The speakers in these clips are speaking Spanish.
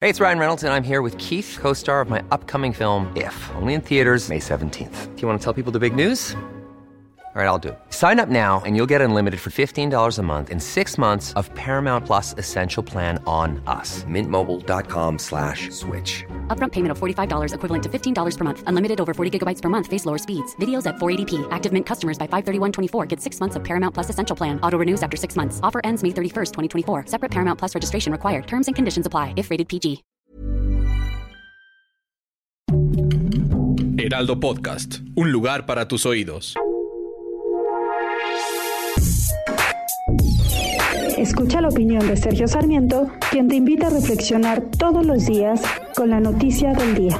Hey, it's Ryan Reynolds, and I'm here with Keith, co-star of my upcoming film, If, only in theaters May 17th. Do you want to tell people the big news? All right, I'll do it. Sign up now and you'll get unlimited for $15 a month and 6 months of Paramount Plus Essential Plan on us. MintMobile.com/switch. Upfront payment of $45 equivalent to $15 per month. Unlimited over 40 gigabytes per month. Face lower speeds. Videos at 480p. Active Mint customers by 531.24 get 6 months of Paramount Plus Essential Plan. Auto renews after 6 months. Offer ends May 31st, 2024. Separate Paramount Plus registration required. Terms and conditions apply if rated PG. Heraldo Podcast. Un lugar para tus oídos. Escucha la opinión de Sergio Sarmiento, quien te invita a reflexionar todos los días con la noticia del día.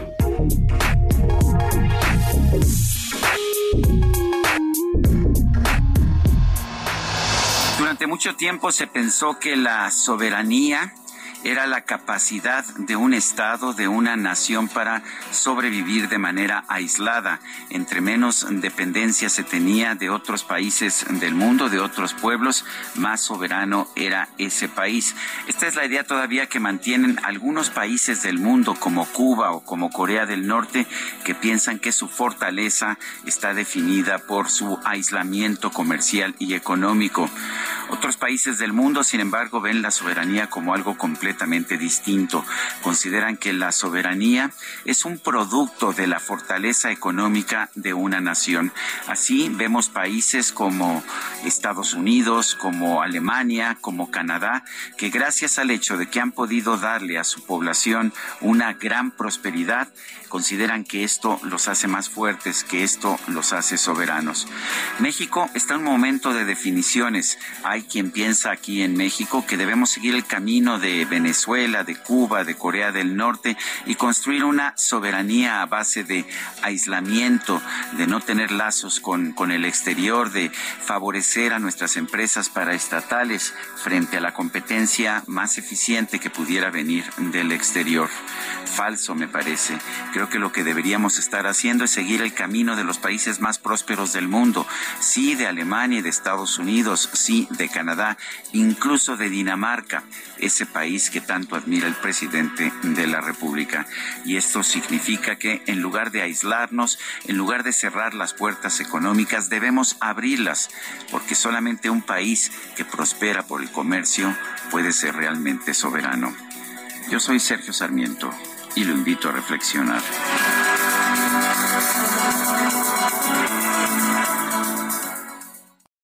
Durante mucho tiempo se pensó que la soberanía era la capacidad de un Estado, de una nación para sobrevivir de manera aislada. Entre menos dependencia se tenía de otros países del mundo, de otros pueblos, más soberano era ese país. Esta es la idea todavía que mantienen algunos países del mundo, como Cuba o como Corea del Norte, que piensan que su fortaleza está definida por su aislamiento comercial y económico. Otros países del mundo, sin embargo, ven la soberanía como algo completamente distinto. Consideran que la soberanía es un producto de la fortaleza económica de una nación. Así vemos países como Estados Unidos, como Alemania, como Canadá, que gracias al hecho de que han podido darle a su población una gran prosperidad, consideran que esto los hace más fuertes, que esto los hace soberanos. México está en un momento de definiciones. Hay quien piensa aquí en México que debemos seguir el camino de Venezuela, de Cuba, de Corea del Norte y construir una soberanía a base de aislamiento, de no tener lazos con el exterior, de favorecer a nuestras empresas paraestatales frente a la competencia más eficiente que pudiera venir del exterior. Falso, me parece. Creo que lo que deberíamos estar haciendo es seguir el camino de los países más prósperos del mundo. Sí, de Alemania y de Estados Unidos, sí, de Canadá, incluso de Dinamarca, ese país que tanto admira el presidente de la República. Y esto significa que en lugar de aislarnos, en lugar de cerrar las puertas económicas, debemos abrirlas, porque solamente un país que prospera por el comercio puede ser realmente soberano. Yo soy Sergio Sarmiento y lo invito a reflexionar.